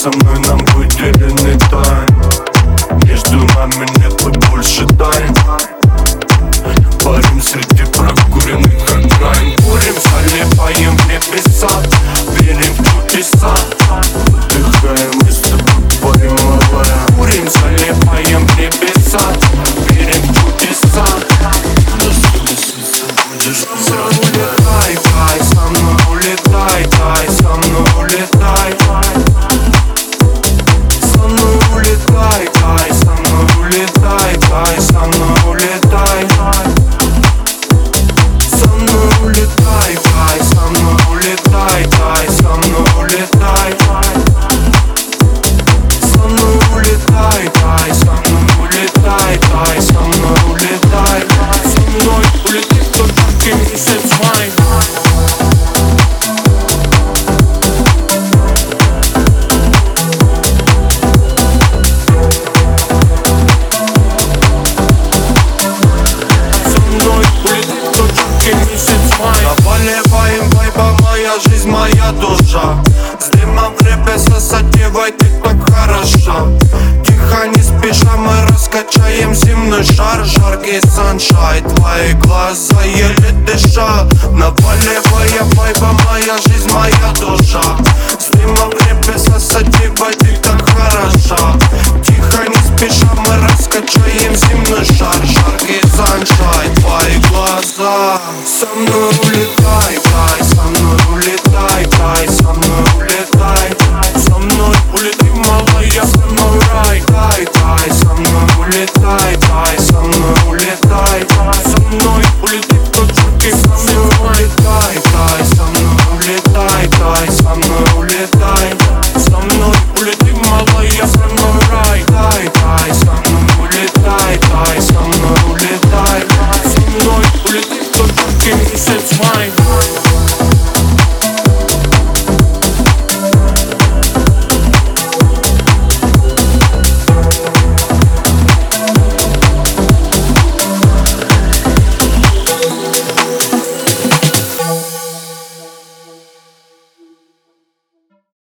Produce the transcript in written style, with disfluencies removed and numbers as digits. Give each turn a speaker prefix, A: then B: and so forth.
A: со мной нам выделены тайны. Между нами нет больше тайн. Парим среди прокуренных окраин. Курим, залипаем в небеса, верим в чудеса. Выдыхаем и с тобой парим, малая. Курим, залипаем в небеса, верим в чудеса. Со мной улетай, тай, со мной улетай, тай, со мной улетай. Со мной улетай, тай, со мной улетай, тай, со мной улетай. Со мной улетай, тай, со мной улетай, тай, со мной улетай. Со мной улетай, тай, со мной улетай, тай, со мной улетай. Со мной улетит тот жаркий месяц май. Наполиваем вайба, моя жизнь, моя душа. С дымом в репе сосадевай, ты так хороша. Тихо, не спеша, мы раскачаем земной шар. Жаркий саншайн, твои глаза еле дыша. Наполивая вайба, моя жизнь, моя душа. С дымом в репе сосадевай, ты так хороша. Тихо, не спеша, мы раскачаем земной шар. Жаркий саншайн, твои глаза. Со мной улетай.